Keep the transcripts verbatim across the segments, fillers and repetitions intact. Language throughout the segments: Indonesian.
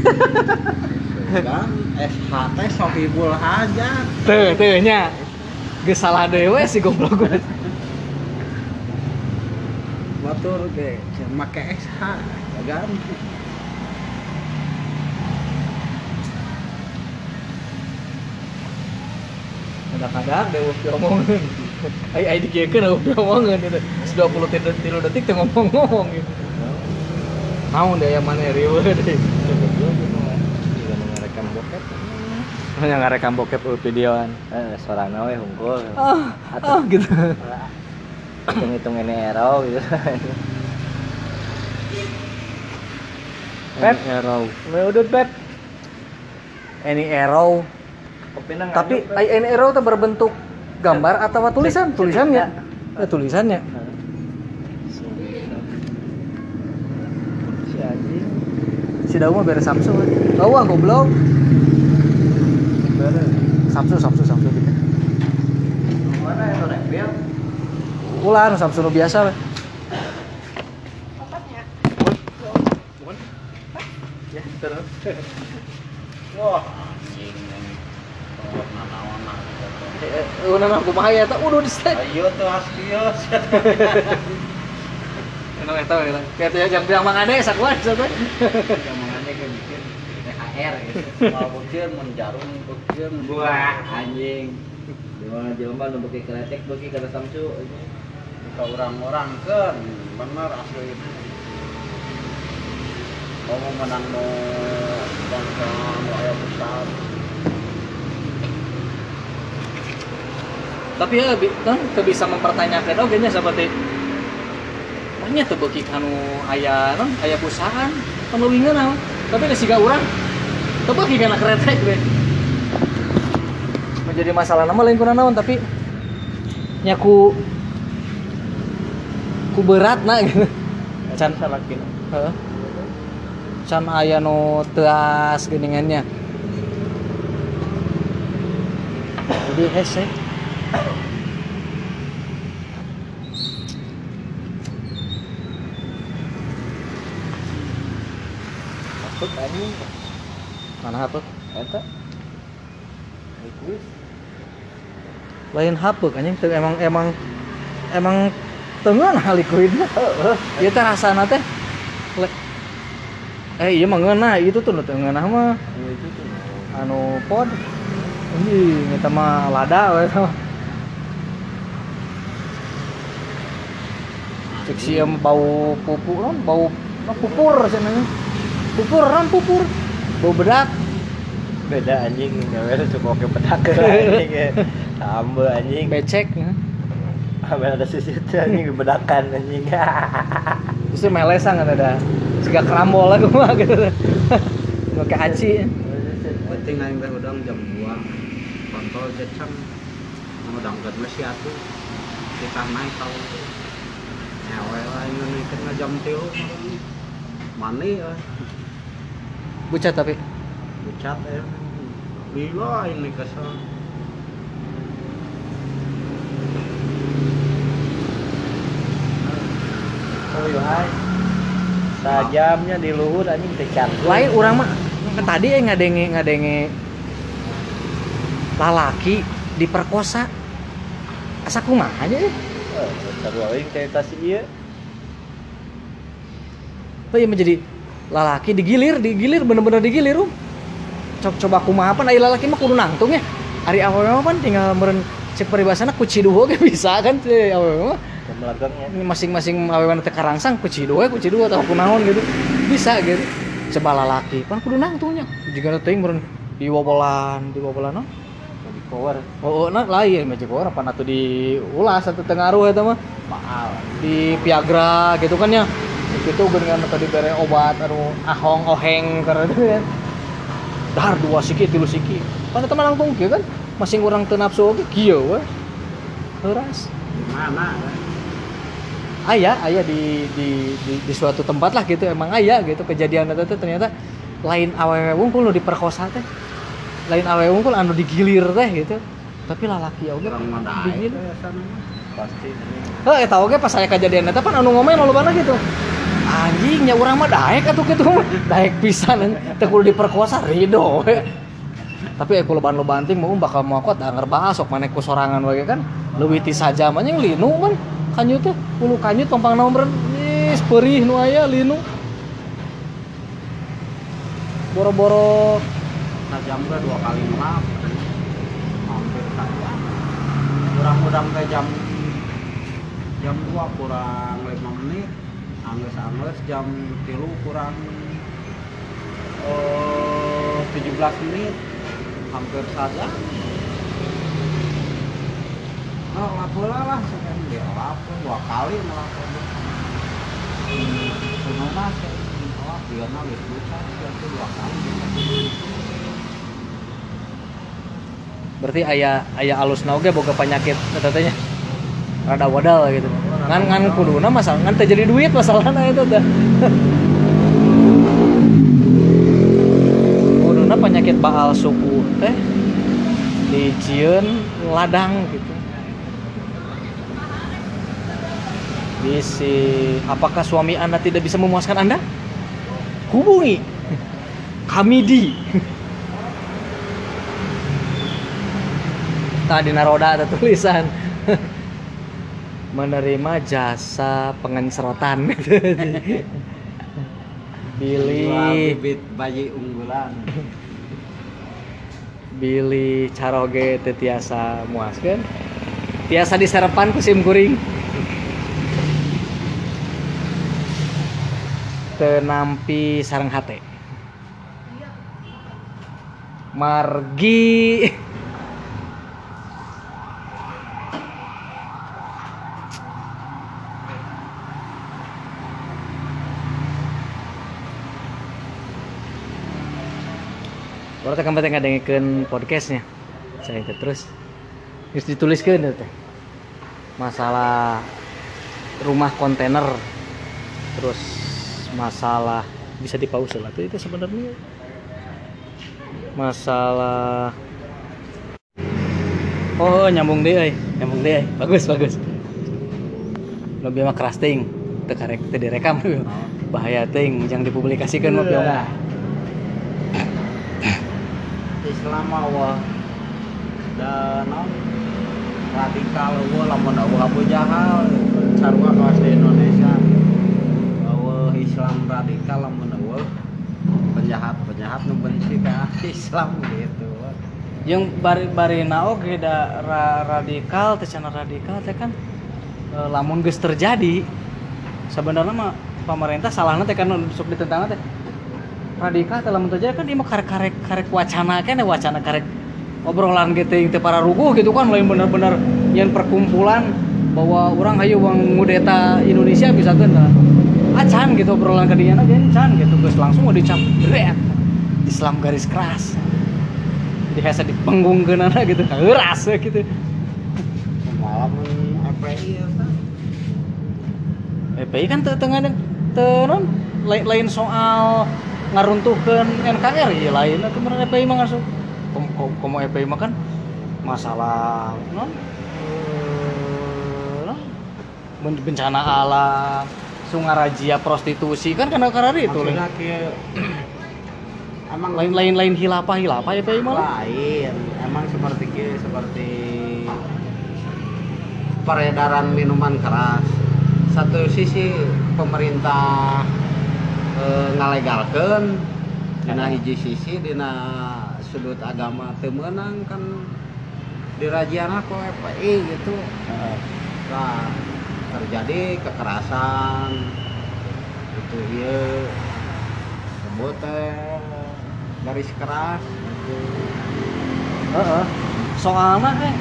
Kan S H teh Sohibul Hajat. Teu, teu nya. Geus salah dewe si goblok gue. Batur ge make S H kan. Kadang-kadang dewe diomongin. Ai ai dikiekeun dewe diomongin gitu. dua puluh tilu detik teh ngomong-ngomong gitu. Naon deh yang mana riweuh deui. Ngerekam bokep. Hanya ngarekam bokep videoan. Eh, suarana we hungkul. Ah, ah gitu. Hitung-hitung ini arrow gitu. Pep, arrow. meudut Pep. Any arrow. Tapi any arrow itu berbentuk gambar atau tulisan? Tulisannya. Ya, tulisannya. Si anjing. Si Dawu mah beres Samsu. Tahu ah goblok. Beres. Samsu, Samsu, Samsu gitu. Mana yang review? Ulah Samsu nu biasa we. Tempatnya. Ya, terus. Wah, anjing. Warna nawana. Eh, eh, nama kumaha ya teh udah di set. Ayo tuh askios. Enak eta we lah. Kayak teh jam bilang mangane sakuan satu. Jamangannya kayak bikin T H R gitu. Mau beukeun mun jarum beukeun. Wah, anjing. Dimana jelema nu beuki kretek beuki kada Samsu. Ka orang-orang kan bener asli itu. Kamu menang no bangsa no aya besar. Tapi ya kan teu bisa mempertanyakan oge nya seperti banyak tuh beuki anu aya non aya perusahaan kan leuwingeun naon. Tapi da siga urang teu beuki kana kretek we. Menjadi masalah nama lain kuna naon tapi nya ku ku beratna gitu. Can salakin. Heeh. Can aya nu teu as geuningannya. Jadi hese Masuk anjing. mana apa? Eta. Liquid. Lain hapuk anjing teu emang emang emang tengah nah liquidna. Heeh. Ieu teh rasana teh le- eh iya mah ngeunah itu tuh nu teu ngeunah mah Iya itu tuh. anu pod. Anjing eta mah lada we eta mah. Cek sieum bau pupuk non bau ah, pupur cenah. Pupur non pupur. Bau bedak. Beda anjing, gawe cukup ke pedak anjing. Tambah anjing. Becek ya. Ambil ada sisir anjing bedakan anjing. Terus melesan kan ada. Siga kerambol lah mah gitu. Pakai aci. Penting aing teh udang jam dua. Kontrol jeceng. Udang ket masih atuh. Kita naik tahu. Ewe lah ini naikkeun jam tilu. Mani euy. Bucat tapi Bucat ya. Bila ini kesel. Oh iya hai. Sajamnya di luhur anjing teh cantik. lain urang mah kan tadi eh ngadenge ngadenge lalaki diperkosa. Asa kumaha aja ya? Eh, seru aing cerita si ieu. Oh iya menjadi lalaki digilir, digilir bener-bener digilir um. Coba coba kumaha pan aya lalaki mah kudu nangtung ya. Ari awewe mah pan tinggal meureun cek peribasana ku ciduh ge bisa kan teh awewe mah. Melagangnya. Masing-masing awewe teh karangsang ku ciduh we ku ciduh atau kunaon gitu. Bisa gitu. Coba lalaki pan kudu nangtungnya. Jigana teuing meureun diwobolan, diwobolan no. Di power. Oh, nah lain mah cek orang pan atuh diulas atuh teu ngaruh eta mah. Maal di Viagra gitu kan ya. Itu geuningan tadi bere obat anu ahong oheng karena itu ya. Dahar dua siki tilu siki. Pan eta mah langtung kieu kan. Masing urang teu nafsu oge kieu we. Heuras. Di mana? Aya aya di, di di di suatu tempat lah gitu emang aya gitu kejadian eta teh ternyata lain awewe wungkul nu diperkosa teh. Lain awewe wungkul anu digilir teh gitu. Tapi lalaki oge Orang mah digilir. ya sana. Pasti anjing. Heh, eta oge pas aya kejadian eta pan anu ngomel lolobana gitu. anjingnya urang mah daek atuh kitu mah daek pisan teu kudu diperkosa ridho we. Tapi aya loban-loban ting mau bakal moakot da ngerbahas sok maneh ku sorangan we kan leuwih ti sajam anjing linu man kanyut teh ulu kanyut tompang naon beren is perih nu aya linu boro-boro jam ke dua kali ngelap hampir saja kurang-kurang ke jam jam dua kurang lima menit angges-angges jam tilu kurang uh, tujuh belas menit hampir saja oh lapola lah sekarang dia lapor dua kali melapor sebenarnya saya ngelap dia nangis bukan itu dua kali berarti aya aya alusna oge boga penyakit eta teh nya rada wadal gitu ngan ngan kuduna masalah ngan teu jadi duit masalahna eta teh kuduna penyakit baal suku teh dijieun ladang gitu bisi apakah suami Anda tidak bisa memuaskan Anda hubungi kami di tadi naroda ada tulisan menerima jasa pengencerotan Billy bibit bayi unggulan Billy caroge teu tiasa muaskeun tiasa diserepan ku sim kuring teu nampi sareng hate margi kalau tekan penting ngadengikeun podcastnya saya ikut terus terus dituliskeun teh masalah rumah kontainer terus masalah bisa dipause lah tuh itu sebenarnya masalah oh nyambung deh euy nyambung deh bagus bagus lebih mah keras ting teu karek teu direkam bahaya ting jangan dipublikasikan mah piong Islam awal dan non radikal awal lamun awal Abu Jahal sarua kawas di Indonesia awal Islam radikal lamun awal penjahat penjahat nu benci ka Islam gitu yang bari-barina oge da ra, radikal teh cenah radikal teh kan e, lamun geus terjadi sebenarnya mah pemerintah salahna teh kan sok ditentang teh radikal teh lamun terjadi kan ieu mah karek-karek karek wacana kan wacana karek obrolan gitu teh para ruguh gitu kan lain bener-bener yang perkumpulan bahwa orang hayu wang ngudeta Indonesia bisa kan acan gitu obrolan ka dieu gen can gitu geus langsung mau dicap dret Islam garis keras dihasa dipenggungkeunana gitu heuras gitu malam F P I ya kan F P I kan teu teu teu non lain soal ngaruntuhkeun N K R ieu lain atuh meureun F P I mah ngasup komo F P I mah kan masalah non non bencana alam sungarajia prostitusi kan kana karari itu emang lain-lain lain hilapah hilapah F P I mah lain emang seperti seperti peredaran minuman keras satu sisi pemerintah e, ngalegalkeun dina hiji sisi dina sudut agama teu meunang kan dirajiana ku F P I gitu nah terjadi kekerasan itu ieu sebut teh garis keras gitu. heeh soalna teh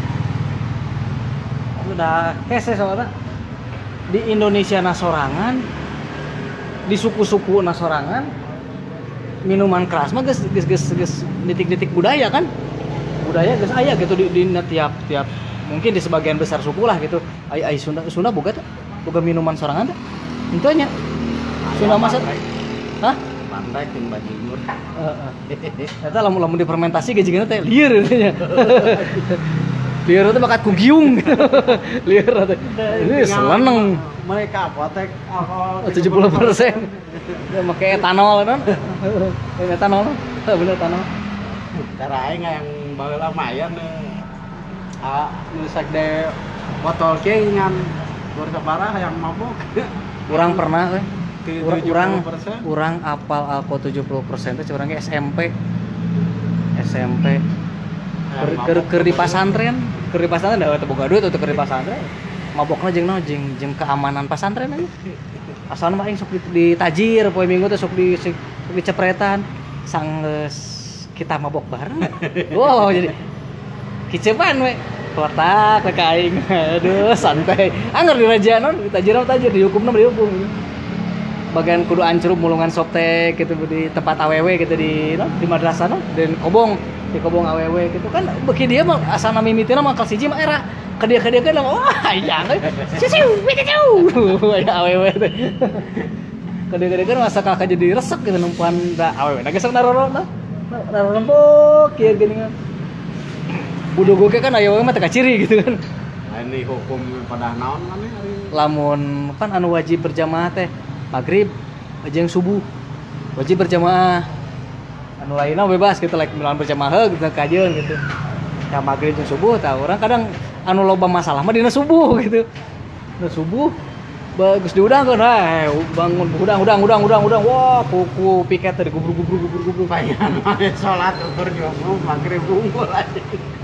udah kese soalna di Indonesia nasorangan di suku-suku nasorangan minuman keras mah geus geus geus geus nitik-nitik budaya kan budaya geus aya gitu di, di tiap tiap mungkin di sebagian besar suku lah gitu ai ai Sunda Sunda boga teh boga minuman sorangan teh henteu nya Sunda mah hah pantai tim bajingur heeh eta lamun lamun difermentasi gejigana teh lieur nya Lieur teh bakat kugiung. Lieur teh. Ini seleneng. Mereka apotek alkohol tujuh puluh persen. Dia make etanol kan. Etanol. Bener etanol. Cara aing yang baheula mayan ah nu sakde botol ke ngan bersabaraha yang mabok. Urang pernah we. Urang urang tujuh puluh persen. urang apal alko tujuh puluh persen teh curang ge S M P. S M P. Keur keur keur di pasantren, keur di pasantren da teu boga duit untuk keur di pasantren. Mabokna jeung naon jeung jeung keamanan pasantren aja. Asalna mah aing sok ditajir poe minggu teh sok di sok dicepretan sanggeus kita mabok bareng. Wow jadi kicepan we. Kotak ke aing. Aduh santai. Angger di raja non ditajir mah tajir dihukumna dihukum. Bagian kudu ancrup mulungan soptek gitu di tempat awewe gitu di no, di madrasah no, dan kobong di kobong awewe gitu kan beki dia mah asal mimitina mah kelas hiji mah era ke dia ke dia kan wah jangan siu siu ya awewe teh ke dia ke dia kan masa kakak jadi resek gitu numpuan da awewe nah geusang naroro nah narempok kieu geuning budogo kan awewe mah teu kaciri gitu kan. Nah, ini hukum pada naon maneh ari Lamun kan anu wajib berjamaah teh maghrib jeung subuh wajib berjamaah, anu lainna bebas gitu like milan berjamaah gitu kajeun gitu ya maghrib jeung subuh tah urang kadang anu loba masalah mah dina subuh gitu dina subuh bagus diudangkeun hae bangun udang udang udang udang udang wah kuku piket teh gubruk-gubruk gubruk-gubruk payan mah salat ukur jomblo maghrib unggul aja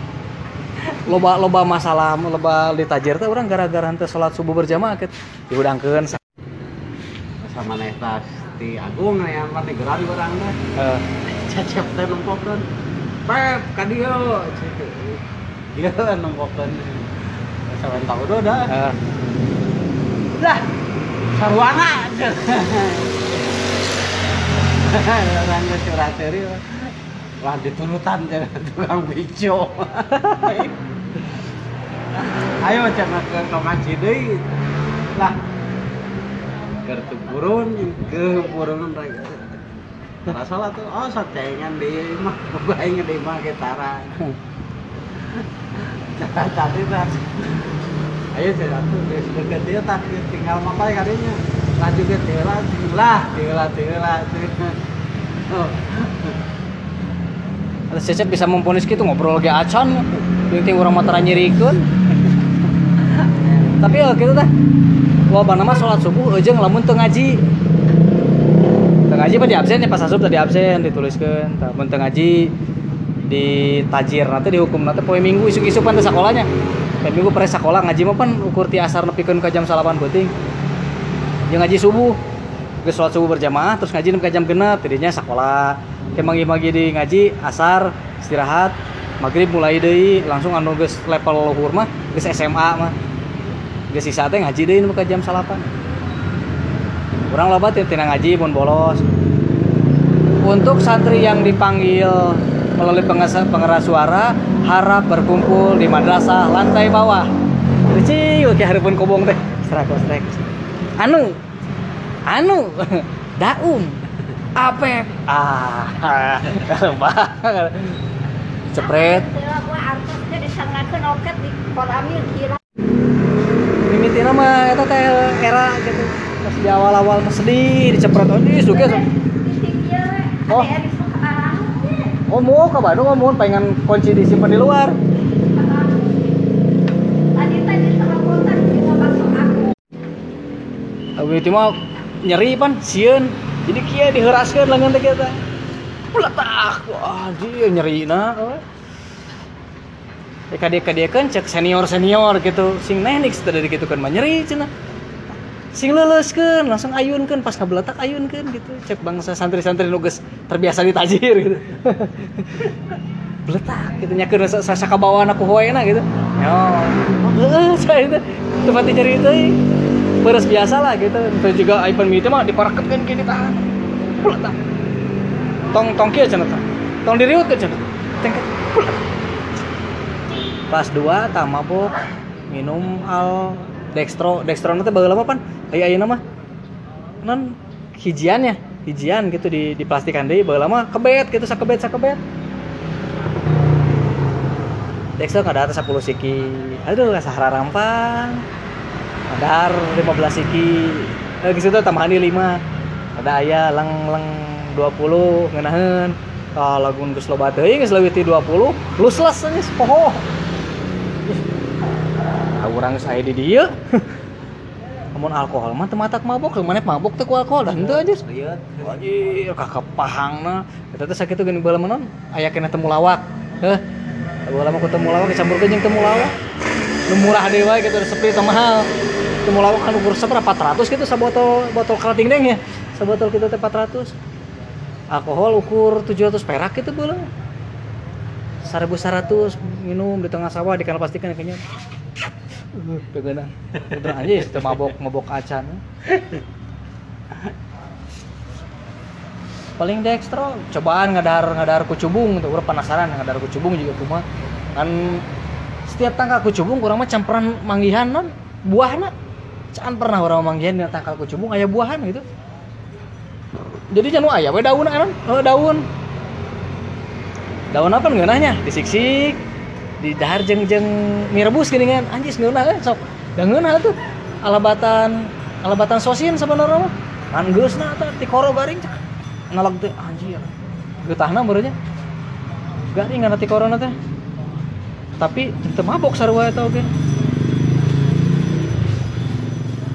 loba loba masalah loba ditajir teh urang gara-gara henteu salat subuh berjamaah gitu diudangkeun sama netas di Agung yang mana geran orang teh heeh cecep teh nempokeun pep ka dieu dia nempokeun sawen tahu do dah heeh lah sarwana orang geus curhat deui lah diturutan jangan tukang bijo ayo cenah ke ngaji deui lah kertu burun ke burun rek tara salat tuh oh satengan di mah bae di mah ketara tadi tah ayo saya tuh geus deket dia tah tinggal mapai kadinya lanjut ke tela lah tela tela oh ada cecep bisa memponis gitu ngobrol ge acan penting urang mah tara nyirikeun tapi ya gitu tah loba nama salat subuh jeung lamun teu ngaji. Teu ngaji mah di absen ya pas asup tadi absen dituliskeun. Tah mun teu ngaji di tajirna teh dihukumna teh poe Minggu isuk-isuk pan teh sakolanya. Poe Minggu pare sakola ngaji mah pan ukur ti asar nepikeun ka jam salapan beuting. Jeung ngaji subuh. Geus salat subuh berjamaah terus ngaji nepi ka jam genep tidinya sakola. Ke magi-magi di ngaji asar istirahat maghrib mulai deui langsung anu geus level luhur mah geus S M A mah. Geus sisa teh ngaji deui nu ka jam salapan. Urang loba teh tina ngaji mun bolos. Untuk santri yang dipanggil melalui pengeras suara harap berkumpul di madrasah lantai bawah. Ciu ki hareupeun kobong teh. Strak strak. Anu anu daum apep ah bah cepret mimitina mah eta teh era gitu pas di awal-awal mah sedih dicepret ih suge oh oh mau ke Bandung mau pengen kunci disimpan di luar tadi tadi sama kontak tinggal masuk aku itu mah nyeri pan sieun jadi kieu diheuraskeun lengan teh kita pletak wah dia nyerina kadek-kadekeun cek senior-senior gitu sing teknik teh gitu kan mah nyeri cenah sing leuleuskeun langsung ayunkeun pas kabeletak ayunkeun gitu cek bangsa santri-santri nu geus terbiasa ditajir gitu beletak gitu nyakeun sasa kabawana ku hoena gitu yo heuh saya teh tempat nyeri teh beres biasa lah gitu terus juga iPhone mini mah diparaketkeun ke ditahan beletak tong tong kieu cenah tah tong diriutkeun cenah tengket kelas dua tah mabok minum al dextro dextro nanti bageula mah pan aya ayeuna mah non hijian ya hijian gitu di di plastikan deui bageula mah kebet gitu sakebet sakebet Dexter ngadar sepuluh siki. Aduh, sahara rampang. Ngadar lima belas siki. Eh geus teh tambahan di lima. Ada aya leng-leng dua puluh ngeunaheun. Ah lagun geus loba teuing geus leuwih ti dua puluh, lusles geus poho. Ah urang saya di dieu. Amun alkohol mah teu matak mabok, maneh mabok teh ku alkohol dan teu anjir. Anjir kakepahangna. Eta teh sakitu geuning bae meunon aya kena temu lawak. Heuh. Baheula mah ku temu lawak dicampurkeun jeung temu lawak. Nu murah deui wae kitu sepi teh mahal. Temu lawak kan ukur sabaraha empat ratus kitu sabotol botol kalating deng ya. Sabotol kitu teh empat ratus. Alkohol ukur tujuh ratus perak kitu baheula. seribu seratus minum di tengah sawah di kanal plastikan kayaknya. Uh, pegeunang. Udah anjir teu mabok mabok acan. Paling dextro cobaan ngadar ngadar kucubung tuh urang penasaran ngadar kucubung juga kumaha. Kan setiap tangkal kucubung urang mah campuran manggihan non buahna. Can pernah urang manggihan dina tangkal kucubung aya buahan gitu. Jadi janu aya we daun kan? Oh daun. Daun apa ngeunahnya? Disiksik, didahar jeung-jeung mie rebus geuningan. Anjis ngeunah eh sok. Da ngeunah tuh alabatan alabatan sosin sabenerna mah. Kan geusna eta ti koro garing cak. Analog teh anjir. Geutahna meureunnya. Garing ngana ti korona teh. Tapi teu mabok sarua eta oge.